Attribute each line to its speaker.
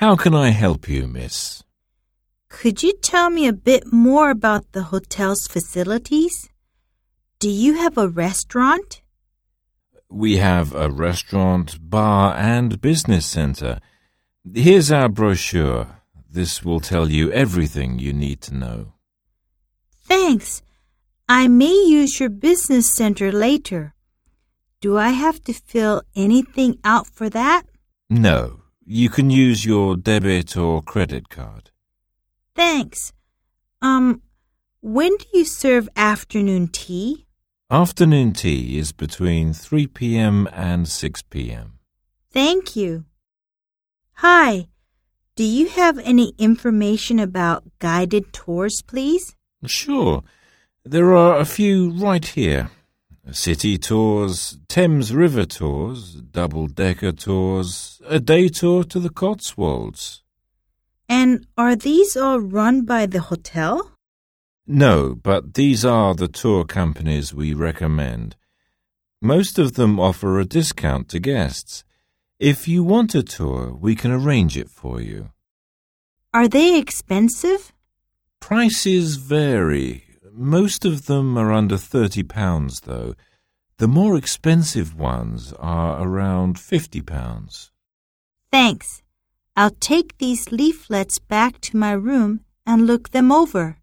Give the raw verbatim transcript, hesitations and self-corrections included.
Speaker 1: How can I help you, miss?
Speaker 2: Could you tell me a bit more about the hotel's facilities? Do you have a restaurant?
Speaker 1: We have a restaurant, bar, and business center. Here's our brochure. This will tell you everything you need to know.
Speaker 2: Thanks. I may use your business center later. Do I have to fill anything out for that?
Speaker 1: No, you can use your debit or credit card.
Speaker 2: Thanks. Um, when do you serve afternoon tea?
Speaker 1: Afternoon tea is between three p.m. and six p.m.
Speaker 2: Thank you. Hi. Do you have any information about guided tours, please?
Speaker 1: Sure. There are a few right here. City tours, Thames River tours, double-decker tours, a day tour to the Cotswolds.
Speaker 2: And are these all run by the hotel?
Speaker 1: No, but these are the tour companies we recommend. Most of them offer a discount to guests. If you want a tour, we can arrange it for you.
Speaker 2: Are they expensive?
Speaker 1: Prices vary. Most of them are under thirty pounds, though. The more expensive ones are around fifty pounds.
Speaker 2: Thanks. I'll take these leaflets back to my room and look them over.